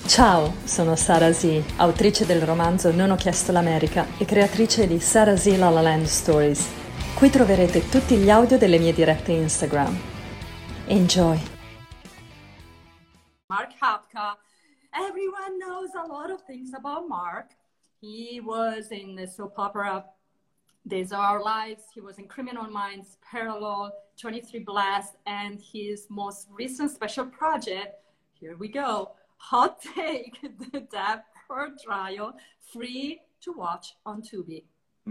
Ciao, sono Sara Z, autrice del romanzo Non ho chiesto l'America e creatrice di Sara Z La La Land Stories. Qui troverete tutti gli audio delle mie dirette Instagram. Enjoy! Mark Hapka. Everyone knows a lot of things about Mark. He was in the soap opera These Are Our Lives. He was in Criminal Minds, Parallel, 23 Blast, and his most recent special project, here we go, Hot Take, The Depp for Trial, free to watch on Tubi.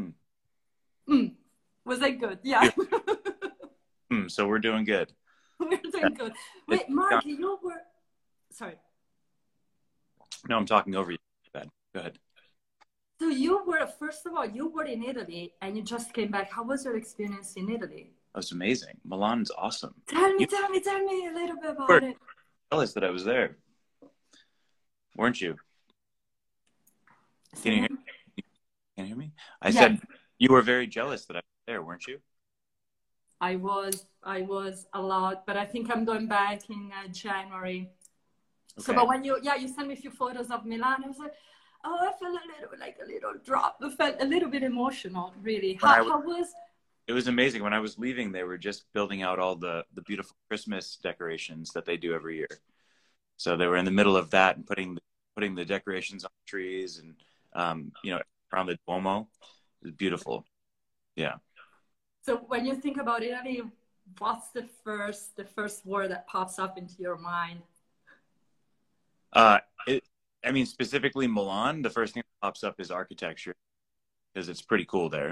Was that good? Yeah. So we're doing good. We're doing good. Wait, Mark, you were... Sorry. No, I'm talking over you. Go ahead. So you were, first of all, you were in Italy and you just came back. How was your experience in Italy? That was amazing. Milan's awesome. Tell me a little bit about it. Jealous that I was there. Weren't you? Can you hear me? Can you hear me? I said you were very jealous that I was there, weren't you? I was a lot, but I think I'm going back in January. Okay. So, but when you sent me a few photos of Milan, I was like, oh, I felt a little drop. I felt a little bit emotional, really. How was? It was amazing. When I was leaving, they were just building out all the beautiful Christmas decorations that they do every year. So they were in the middle of that and putting the decorations on trees and around the Duomo. It was beautiful. Yeah. So when you think about Italy, what's the first word that pops up into your mind? Specifically Milan, the first thing that pops up is architecture because it's pretty cool there.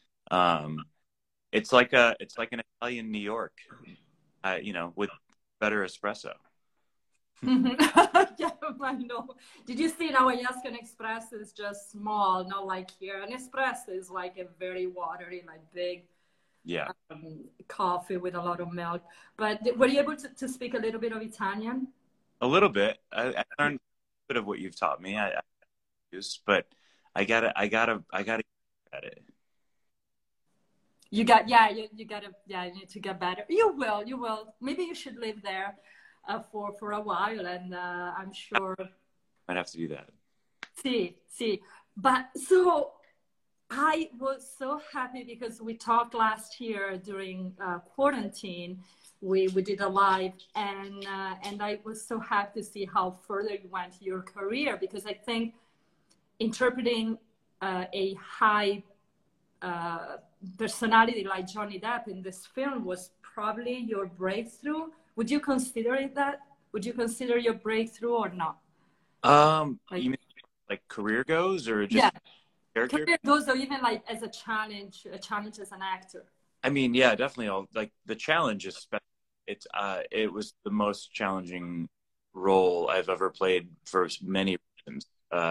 It's like an Italian New York, with better espresso. Yeah, I know. Did you see now? Yaskan Express is just small, not like here. An espresso is like a very watery, like big, coffee with a lot of milk. But were you able to speak a little bit of Italian? A little bit. I learned a bit of what you've taught me. I use, but I gotta get at it. You need to get better. You will. Maybe you should live there for a while, and I'm sure I'd have to do that. See. But so I was so happy because we talked last year during quarantine. We did a live, and I was so happy to see how further you went your career, because I think interpreting a high personality like Johnny Depp in this film was probably your breakthrough. Would you consider it that? Would you consider your breakthrough or not? You mean like career goes, or just character? Career goes, or even like as a challenge as an actor. I mean, yeah, definitely. The challenge is it was the most challenging role I've ever played for many reasons.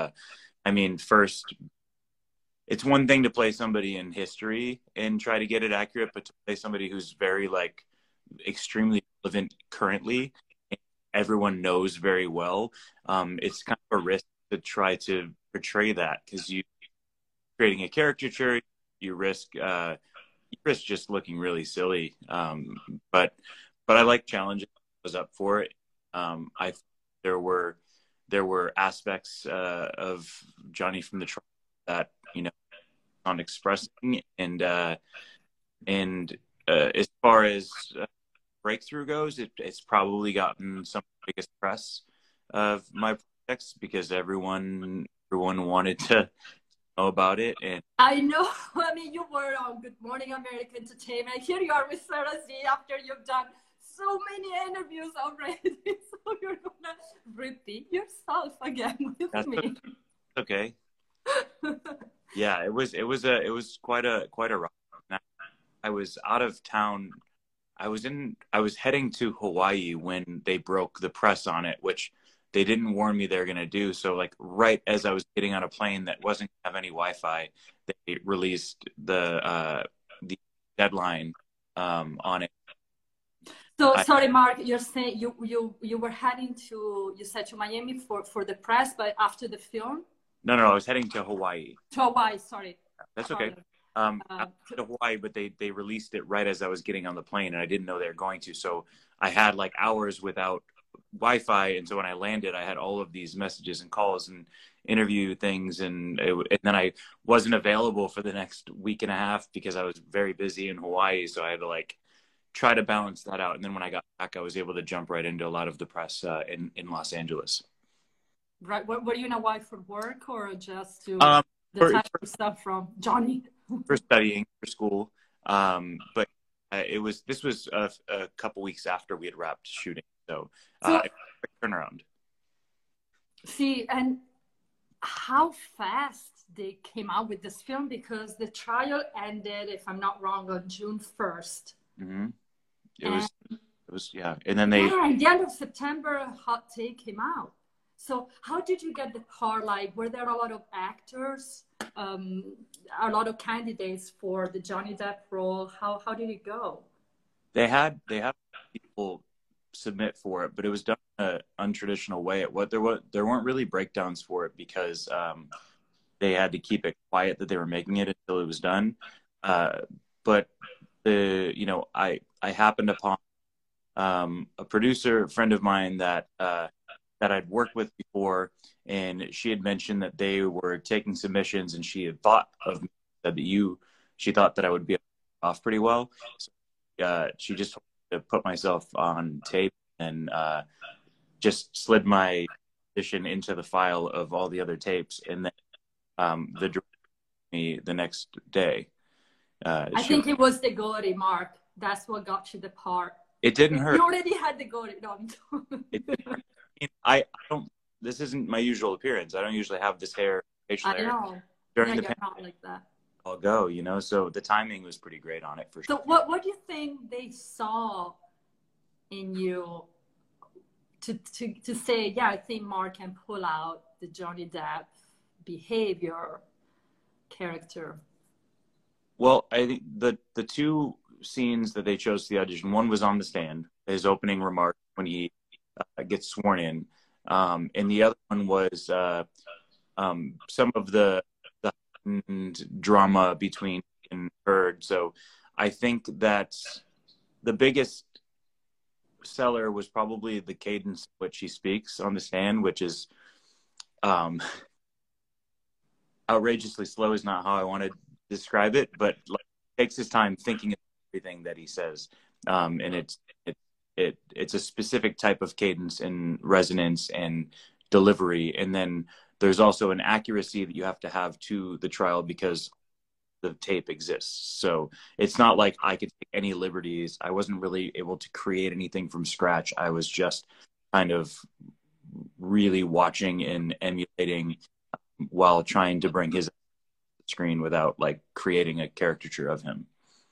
First, it's one thing to play somebody in history and try to get it accurate, but to play somebody who's very extremely relevant currently, everyone knows very well. It's kind of a risk to try to portray that, because you creating a caricature, you risk just looking really silly. But I like challenges. I was up for it. There were aspects of Johnny from the Trial that on expressing, and as far as breakthrough goes, it's probably gotten some of the biggest press of my projects because everyone wanted to know about it. And I know. I mean, you were on Good Morning America Entertainment. Here you are with Sara Z after you've done so many interviews already. So you're gonna repeat yourself again with me. Okay. Yeah, it was quite a ride. I was out of town. I was heading to Hawaii when they broke the press on it, which they didn't warn me they're gonna do. So right as I was getting on a plane that wasn't gonna have any Wi-Fi, they released the deadline on it. So sorry, Mark, you're saying you were heading to, you said, to Miami for the press, but after the film? No, I was heading to Hawaii. To Hawaii, sorry. That's okay. To Hawaii, but they released it right as I was getting on the plane, and I didn't know they were going to. So I had hours without Wi-Fi, and so when I landed, I had all of these messages and calls and interview things, and then I wasn't available for the next week and a half because I was very busy in Hawaii, so I had to like try to balance that out. And then when I got back, I was able to jump right into a lot of the press in Los Angeles. Right. Were you in Hawaii for work or just to for stuff from Johnny? For studying, for school. But this was a couple weeks after we had wrapped shooting. So turnaround. See, and how fast they came out with this film, because the trial ended, if I'm not wrong, on June 1st. Mm-hmm. It was, yeah. And then they... Yeah, at the end of September, Hot Take came out. So how did you get the part? Like, were there a lot of actors, a lot of candidates for the Johnny Depp role? How did it go? They had people submit for it, but it was done in an untraditional way. There weren't really breakdowns for it because they had to keep it quiet that they were making it until it was done. But I happened upon a producer, a friend of mine that I'd worked with before, and she had mentioned that they were taking submissions, and she had thought of me, said that she thought that I would be off pretty well. So, she just told me to put myself on tape and just slid my audition into the file of all the other tapes, and then the director me the next day. I think it was the Gory, Mark. That's what got you the part. It didn't hurt. You already had the Gory. No, I don't. This isn't my usual appearance. I don't usually have this hair, facial hair. I know. During the pandemic, not like that. I'll go. So the timing was pretty great on it for sure. So what do you think they saw in you to say, yeah, I think Mark can pull out the Johnny Depp behavior character? Well, I think the two scenes that they chose for the audition, one was on the stand, his opening remark when he gets sworn in, and the other one was some of the drama between and Heard. So I think that the biggest seller was probably the cadence which he speaks on the stand, which is outrageously slow is not how I want to describe it, but like, takes his time thinking of everything that he says, and it's a specific type of cadence and resonance and delivery, and then there's also an accuracy that you have to have to the trial because the tape exists. So it's not like I could take any liberties. I wasn't really able to create anything from scratch. I was just kind of really watching and emulating while trying to bring his screen without like creating a caricature of him.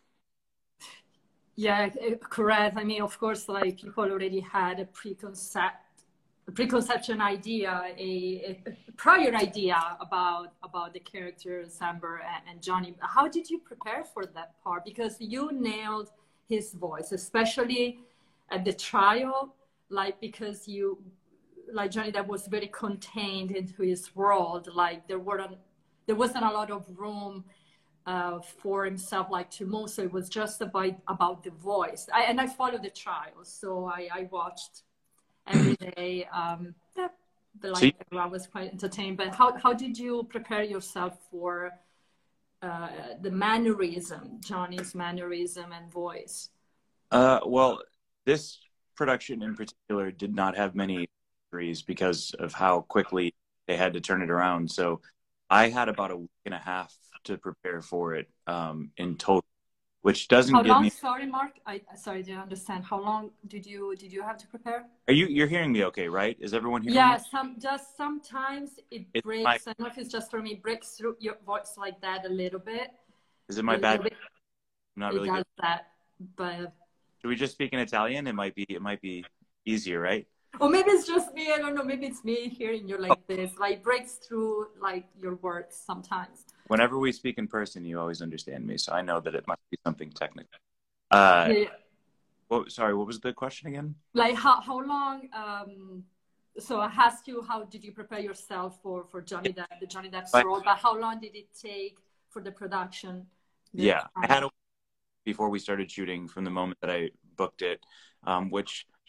Yeah, correct. I mean, of course, like people already had a preconception idea, a prior idea about the characters Amber and Johnny. How did you prepare for that part? Because you nailed his voice, especially at the trial, like because Johnny Depp was very contained into his world. Like there wasn't a lot of room for himself like to move, so it was just about the voice. I followed the trial, so I watched every day. Everyone was quite entertained. But how did you prepare yourself for the mannerism, Johnny's mannerism and voice? Well, this production in particular did not have many injuries because of how quickly they had to turn it around. So I had about a week and a half to prepare for it in total, which doesn't give me. Sorry, Mark. Sorry, didn't understand. How long did you have to prepare? You're hearing me okay, right? Is everyone hearing me? Yeah, just sometimes it breaks. I don't know if it's just for me. Breaks through your voice like that a little bit. Is it my bad? I'm not really good. That, but should we just speak in Italian? It might be easier, right? Or maybe it's just me. I don't know. Maybe it's me hearing you like this. Like breaks through like your words sometimes. Whenever we speak in person, you always understand me, so I know that it must be something technical. Well, sorry, what was the question again? Like how long? So I asked you, how did you prepare yourself for Johnny Depp, the Johnny Depp's role? But how long did it take for the production? Yeah, I had a week before we started shooting from the moment that I booked it, which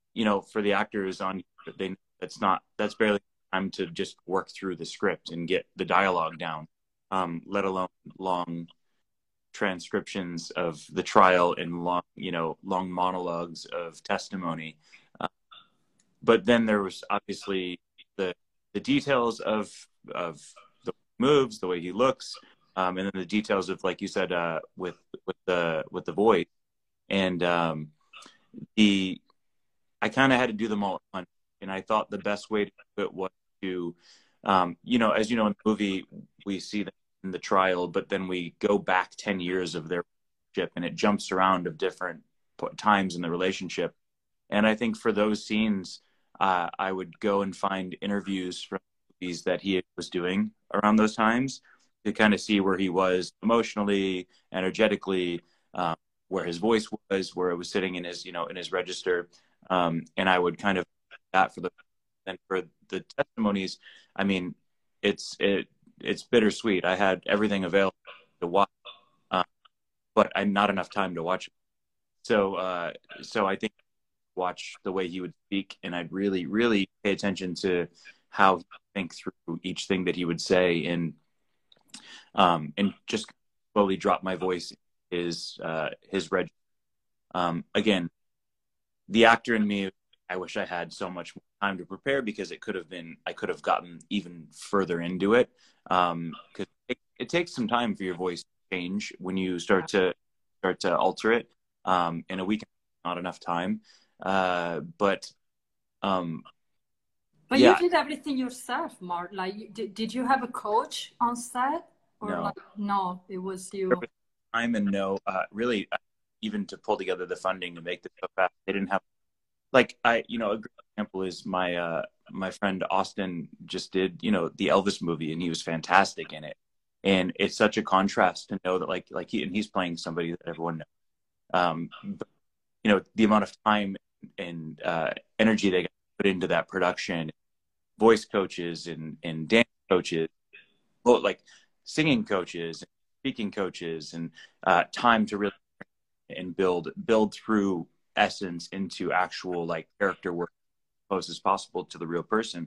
you know, for the actors on, that's barely time to just work through the script and get the dialogue down, let alone long transcriptions of the trial and long monologues of testimony. But then there was obviously the details of the moves, the way he looks, and then the details of, like you said, with the voice. And I kind of had to do them all at once. And I thought the best way to do it was to, as you know, in the movie, we see them in the trial, but then we go back 10 years of their relationship, and it jumps around of different times in the relationship. And I think for those scenes, I would go and find interviews from movies that he was doing around those times to kind of see where he was emotionally, energetically, where his voice was, where it was sitting in his register. And I would kind of that for the testimonies. I mean, it's bittersweet. I had everything available to watch, but I not enough time to watch it. So I think watch the way he would speak, and I'd really, really pay attention to how he think through each thing that he would say, and just slowly drop my voice in his register. Again, the actor in me, I wish I had so much more time to prepare, because I could have gotten even further into it. Because it takes some time for your voice to change when you start to alter it. In a week, not enough time. But you did everything yourself, Mark. Like, did you have a coach on set? Or no, it was you. Time and really, even to pull together the funding to make this so fast, they didn't have. Like, a great example is my friend Austin just did, the Elvis movie, and he was fantastic in it. And it's such a contrast to know that he's playing somebody that everyone knows. But, the amount of time and energy they got put into that production, voice coaches and dance coaches, singing coaches, speaking coaches, and time to really and build through essence into actual character work as close as possible to the real person.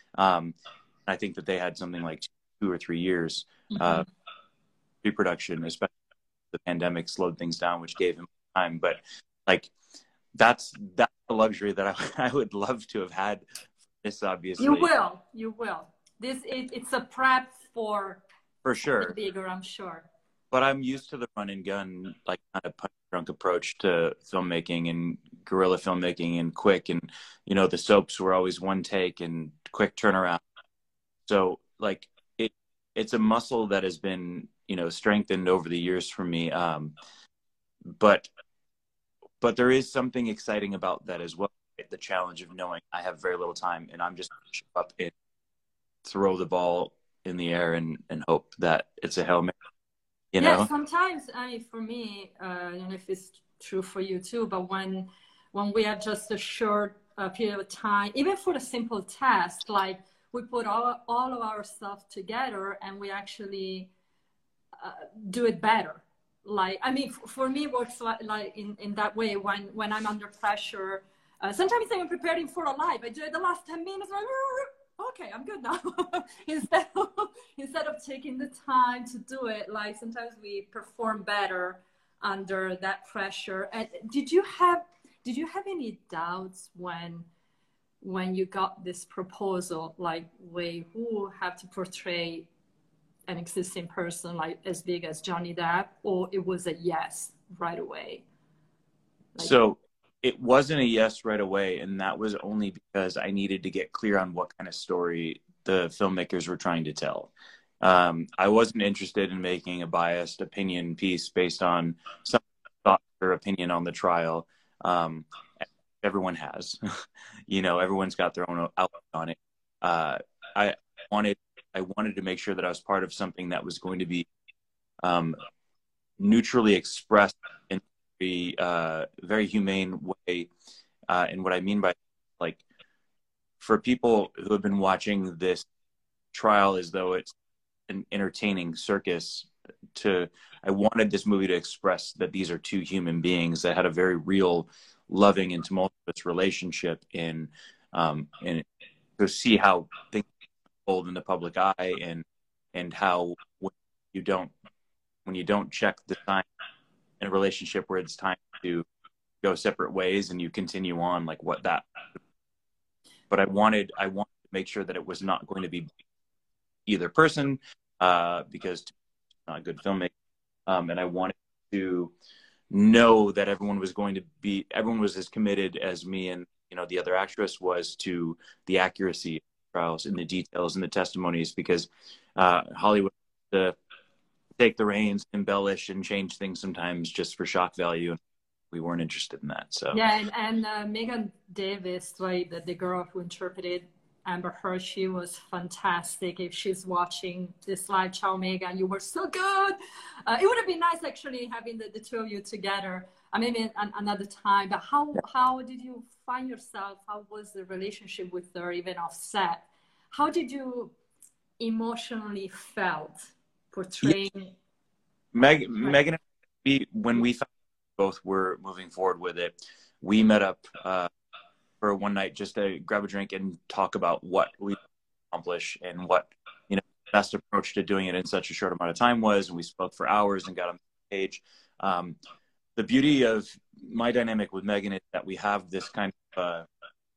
I think that they had something like 2 or 3 years pre-production, especially the pandemic slowed things down, which gave him time. But that's the luxury that I would love to have had. This obviously you will. It's a prep for sure, bigger, I'm sure. But I'm used to the run and gun, kind of punch drunk approach to filmmaking and guerrilla filmmaking, and quick, and the soaps were always one take and quick turnaround. So it's a muscle that has been strengthened over the years for me. But there is something exciting about that as well. The challenge of knowing I have very little time, and I'm just going to show up and throw the ball in the air and hope that it's a Hail Mary. Yeah, sometimes, for me, I don't know if it's true for you too, but when we have just a short period of time, even for a simple task, we put all of our stuff together and we actually do it better. For me, it works in that way when I'm under pressure. Sometimes I'm preparing for a live. I do it the last 10 minutes. Okay, I'm good now. instead of taking the time to do it, sometimes we perform better under that pressure. And did you have any doubts when you got this proposal, who have to portray an existing person as big as Johnny Depp, or it was a yes right away? So it wasn't a yes right away, and that was only because I needed to get clear on what kind of story the filmmakers were trying to tell. I wasn't interested in making a biased opinion piece based on some thought or opinion on the trial. Everyone has, everyone's got their own outlook on it. I wanted to make sure that I was part of something that was going to be neutrally expressed in a very humane way. And what I mean by for people who have been watching this trial as though it's an entertaining circus, I wanted this movie to express that these are two human beings that had a very real, loving and tumultuous relationship, and to see how things unfold in the public eye, and how you don't when you don't check the sign in a relationship where it's time to go separate ways and you continue on, like what that. But I wanted to make sure that it was not going to be either person, because it's not good filmmaking, and I wanted to know that everyone was as committed as me and the other actress was to the accuracy of the trials and the details and the testimonies, because Hollywood to take the reins, embellish and change things sometimes just for shock value, and we weren't interested in that. So yeah, and Megan Davis, right, the girl who interpreted Amber Heard, she was fantastic. If she's watching this live, ciao Megan, you were so good. It would have been nice actually having the two of you together. Maybe another time. But how did you find yourself? How was the relationship with her, even off set? How did you emotionally felt portraying? Yeah. Megan, when we found both were moving forward with it, we met up for one night just to grab a drink and talk about what we accomplish and what the best approach to doing it in such a short amount of time was. And we spoke for hours and got on the page. The beauty of my dynamic with Megan is that we have this kind of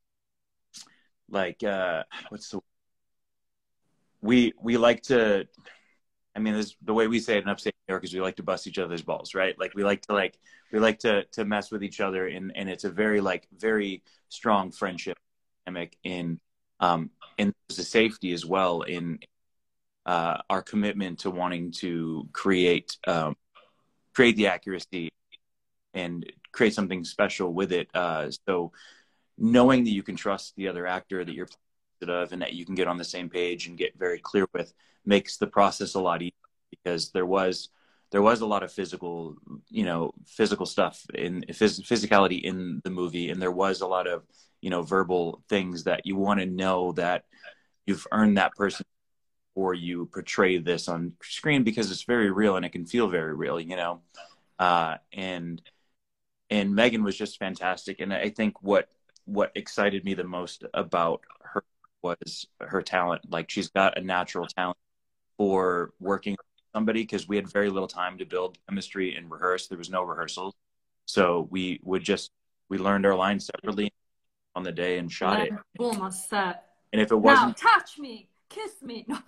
we like to, this, the way we say it in upstate New York is we like to bust each other's balls, right? Like we like to mess with each other, and it's a very strong friendship dynamic and there's a safety as well in our commitment to wanting to create the accuracy and create something special with it. So knowing that you can trust the other actor that you're of and that you can get on the same page and get very clear with makes the process a lot easier, because there was a lot of physical stuff in physicality in the movie, and there was a lot of verbal things that you want to know that you've earned that person before you portray this on screen, because it's very real and it can feel very real, and Megan was just fantastic. And I think what excited me the most about her was her talent. Like, she's got a natural talent for working with somebody, because we had very little time to build chemistry and rehearse. There was no rehearsals. So we learned our lines separately on the day and shot it. Boom, on set. And if it wasn't, now, touch me, kiss me. No.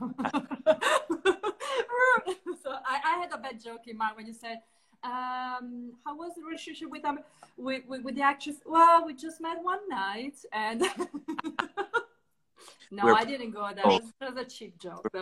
So I had a bad joke in mind when you said, how was the relationship with the actress? Well, we just met one night, and no, I didn't go there. That was a cheap joke, though.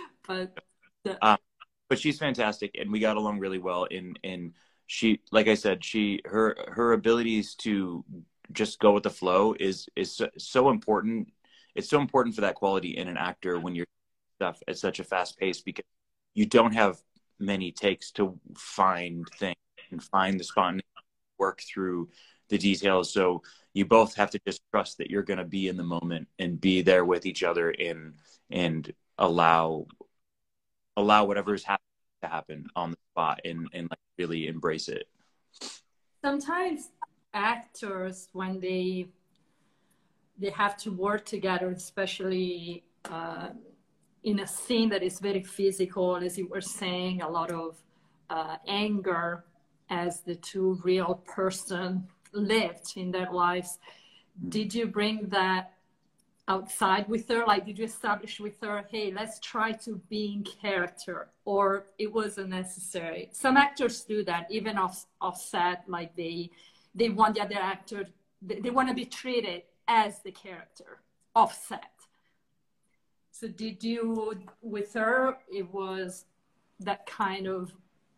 But she's fantastic, and we got along really well. And she, like I said, her abilities to just go with the flow is so important. It's so important for that quality in an actor when you're stuff at such a fast pace, because you don't have many takes to find things and find the spot, work through the details. So you both have to just trust that you're going to be in the moment and be there with each other, and allow whatever's happening to happen on the spot, and like really embrace it. Sometimes actors, when they have to work together, especially in a scene that is very physical, as you were saying, a lot of anger as the two real person lived in their lives. Did you bring that outside with her? Like, did you establish with her, hey, let's try to be in character, or it wasn't necessary? Some actors do that, even off set, like they want the other actor, they want to be treated as the character off set. So did you, with her, it was that kind of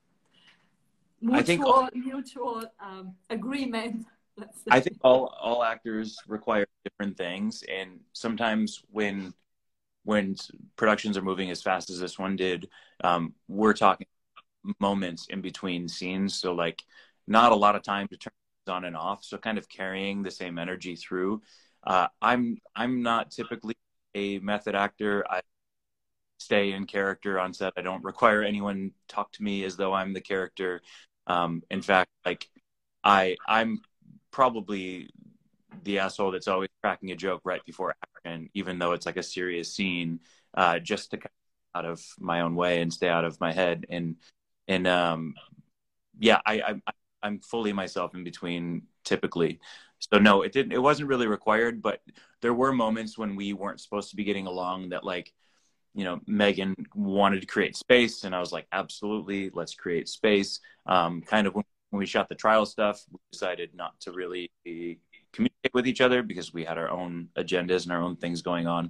mutual agreement? I think all actors require different things, and sometimes when productions are moving as fast as this one did, we're talking moments in between scenes, so like not a lot of time to turn things on and off, so kind of carrying the same energy through. I'm not typically a method actor. stay in character on set. I don't require anyone talk to me as though I'm the character. In fact, like I'm probably the asshole that's always cracking a joke right before action, even though it's like a serious scene, just to out of my own way and stay out of my head. And yeah, I'm fully myself in between typically. So no, it wasn't really required, but there were moments when we weren't supposed to be getting along that, like, you know, Megan wanted to create space, and I was like, absolutely, let's create space. Kind of when we shot the trial stuff, we decided not to really communicate with each other because we had our own agendas and our own things going on.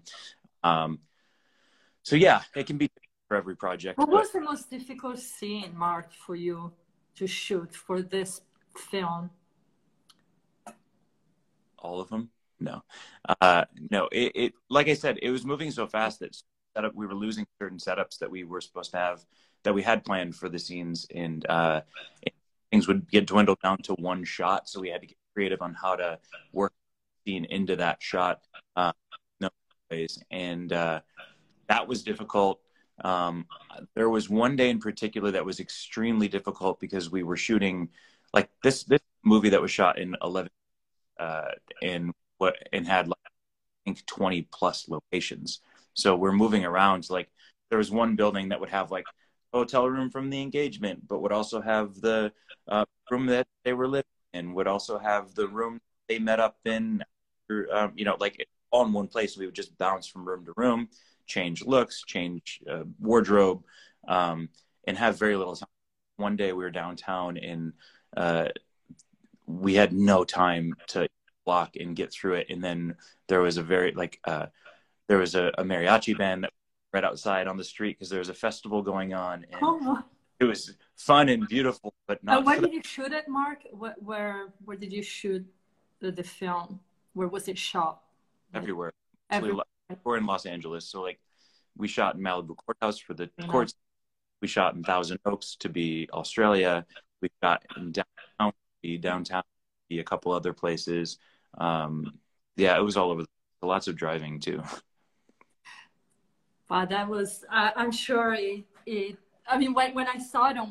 So yeah, it can be for every project. What was the most difficult scene, Mark, for you to shoot for this film? All of them? No. No, it like I said, it was moving so fast that we were losing certain setups that we were supposed to have, that we had planned for the scenes, and things would get dwindled down to one shot. So we had to get creative on how to work the scene into that shot. No ways. And that was difficult. There was one day in particular that was extremely difficult because we were shooting like this movie that was shot in 11 and had like, I think 20 plus locations. So we're moving around. So, like, there was one building that would have like a hotel room from the engagement, but would also have the room that they were living in, would also have the room they met up in, you know, like all in one place. We would just bounce from room to room, change looks, change wardrobe, and have very little time. One day we were downtown and we had no time to block and get through it. And then there was a very there was a mariachi band that right outside on the street because there was a festival going on, and it was fun and beautiful, but not. Where did you shoot it, Mark? Where did you shoot the film? Where was it shot? Everywhere. We're in Los Angeles, so like we shot in Malibu Courthouse for the courts. We shot in Thousand Oaks to be Australia. We shot in downtown, a couple other places. Yeah, it was all over. Lots of driving too. Wow, that was. I'm sure it. I mean, when I saw it on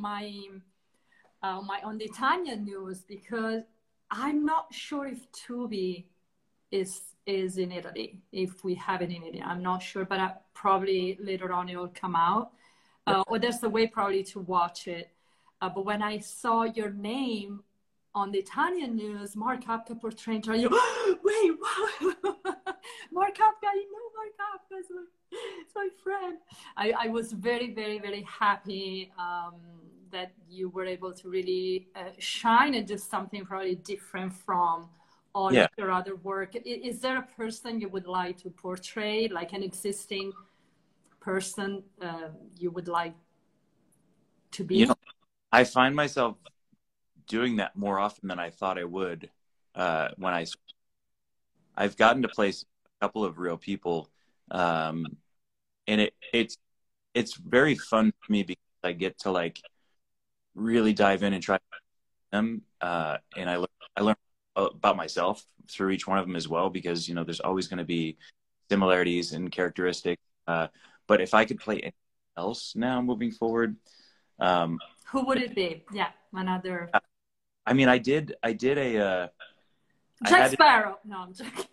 the Italian news, because I'm not sure if Tubi is in Italy, if we have it in Italy. I'm not sure, but probably later on it will come out. Or there's a way probably to watch it. But when I saw your name on the Italian news, Mark Apka portraying, wait, wow, Mark Apka, I know Mark Apka, it's my friend. I was very, very, very happy that you were able to really shine and do something probably different from all of your other work. Is there a person you would like to portray, like an existing person you would like to be? You know, I find myself doing that more often than I thought I would. When I've gotten to place a couple of real people, and it's very fun for me because I get to like really dive in and try them, and I learn about myself through each one of them as well, because you know there's always going to be similarities and characteristics. But if I could play anything else now moving forward, who would it be? Yeah, another. I mean, I did a Jack Sparrow. No, I'm joking.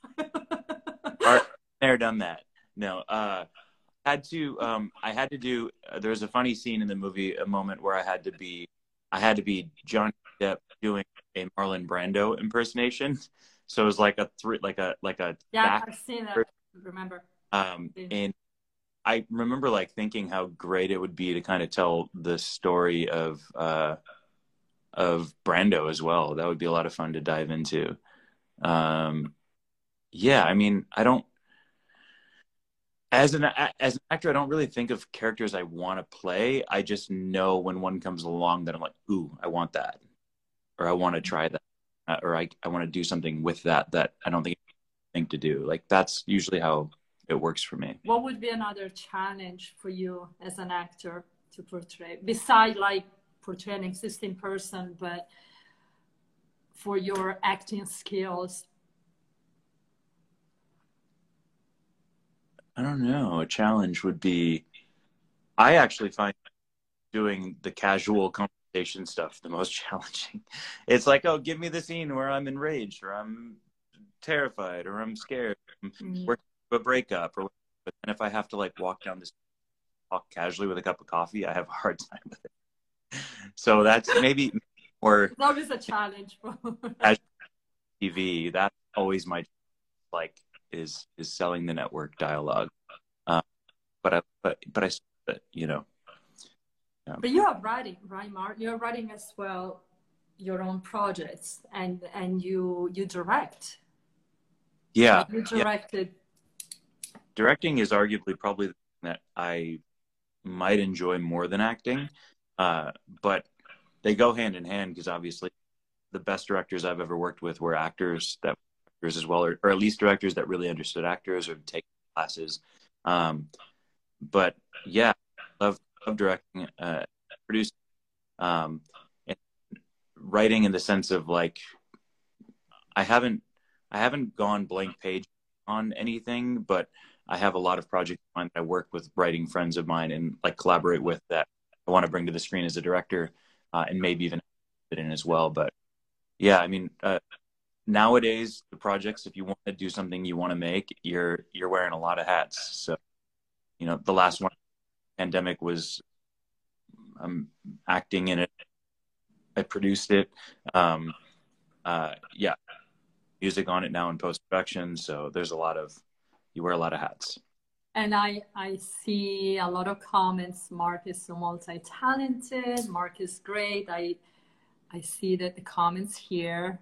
Never done that. No, I had to do. There's a funny scene in the movie, a moment where I had to be Johnny Depp doing a Marlon Brando impersonation. So it was like a yeah, I've seen that. Remember. And I remember like thinking how great it would be to kind of tell the story of Brando as well. That would be a lot of fun to dive into. Yeah, I mean, I don't, as an actor, I don't really think of characters I want to play. I just know when one comes along that I'm like, ooh, I want that, or I want to try that, or I want to do something with that I don't think to do. Like that's usually how it works for me. What would be another challenge for you as an actor to portray, besides like portray an existing person, but for your acting skills? I don't know. A challenge would be, I actually find doing the casual conversation stuff the most challenging. It's like, oh, give me the scene where I'm enraged or I'm terrified or I'm scared, I'm working through a breakup or whatever. But then if I have to like walk down this talk casually with a cup of coffee, I have a hard time with it. So that's maybe more. It's always a challenge for TV. That's always my like is selling the network dialogue. But I, you know. Yeah. But you are writing, right, Mark? You're writing as well your own projects, and you direct. Yeah, like you directed. Yeah. Directing is arguably probably the thing that I might enjoy more than acting, but they go hand in hand because obviously the best directors I've ever worked with were actors as well, or at least directors that really understood actors or take classes. But yeah, love directing, producing, and writing in the sense of like I haven't gone blank page on anything, but I have a lot of projects that I work with writing friends of mine and like collaborate with that I want to bring to the screen as a director, and maybe even fit in as well. But yeah, I mean, nowadays the projects, if you want to do something you want to make, you're wearing a lot of hats. So, you know, the last one, pandemic, was acting in it. I produced it. Yeah, music on it now in post-production. So there's you wear a lot of hats. And I see a lot of comments. Mark is so multi-talented. Mark is great. I see that the comments here.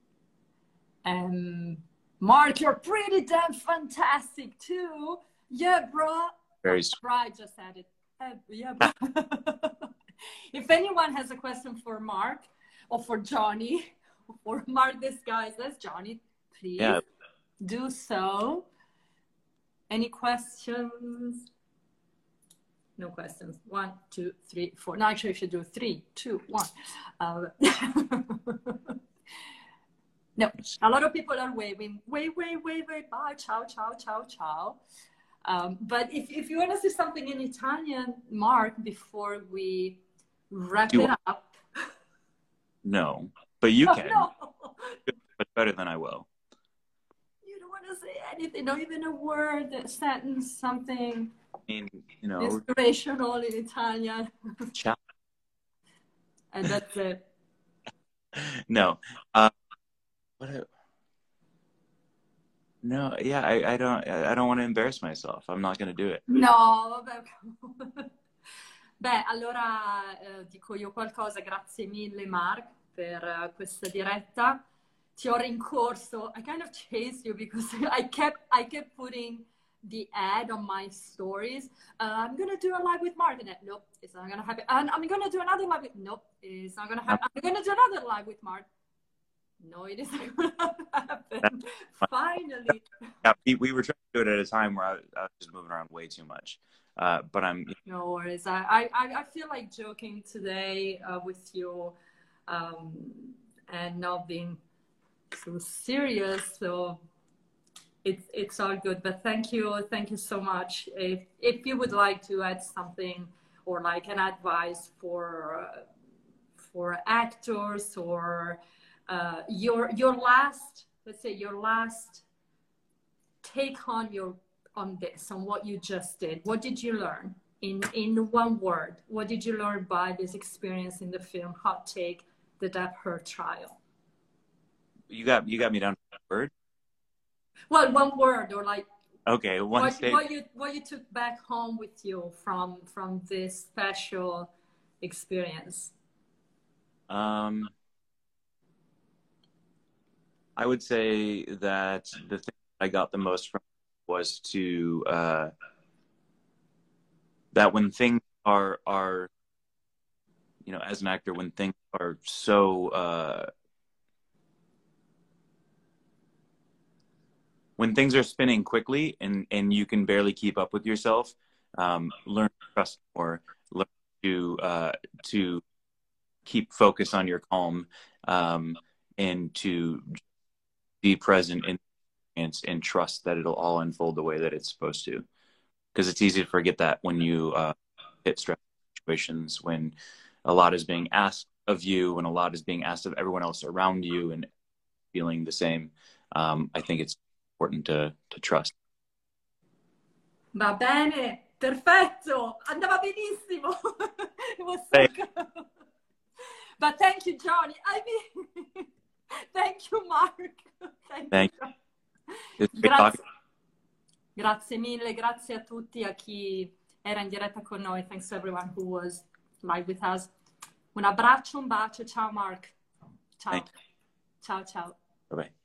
Mark, you're pretty damn fantastic too. Yeah, bro. Very right, just added. Yeah, bro. If anyone has a question for Mark or for Johnny, or Mark, this guy says Johnny, please do so. Any questions? No questions. 1, 2, 3, 4. No, actually, I should do 3, 2, 1. No, a lot of people are waving. Wave. Bye. Ciao, ciao, ciao, ciao. But if you want to say something in Italian, Mark, before we wrap it up. No, but you can. No. But better than I will. You don't want to say anything, not even a word, a sentence, something. I mean, you know, inspirational in Italian. Ciao. And that's it. No. No, yeah, I don't want to embarrass myself. I'm not going to do it. No, vabbè. Beh, allora dico io qualcosa. Grazie mille, Mark, per questa diretta. Ti ho rincorso. I kind of chased you because I kept putting the ad on my stories. I'm gonna do a live with Mark, and nope, it's not gonna happen. And I'm gonna do another live with. Nope, it's not gonna happen. I'm gonna do another live with Mark. No, it isn't going to happen. Finally. Yeah, we were trying to do it at a time where I was just moving around way too much. But I'm... No worries. I feel like joking today with you and not being so serious. So it's all good. But thank you so much. If you would like to add something or like an advice for actors or... your last, let's say your last take on this, on what you just did. What did you learn in one word? What did you learn by this experience in the film Hot Take, The Depp Heard Trial? You got me down to one word? Well, one word, or like okay, what you took back home with you from this special experience. I would say that the thing I got the most from was to that when things are you know, as an actor, when things are so when things are spinning quickly and you can barely keep up with yourself, learn to trust more, learn to keep focus on your calm, and to be present in and trust that it'll all unfold the way that it's supposed to. because it's easy to forget that when you hit stress situations, when a lot is being asked of you and a lot is being asked of everyone else around you and feeling the same. I think it's important to trust. Va bene, perfetto, andava benissimo. It was so good. But thank you, Johnny. I mean, thank you, Mark. Thank you. Grazie mille, grazie a tutti, a chi era in diretta con noi. Thanks to everyone who was live with us. Un abbraccio, un bacio. Ciao, Mark. Ciao. Ciao, ciao. Bye-bye.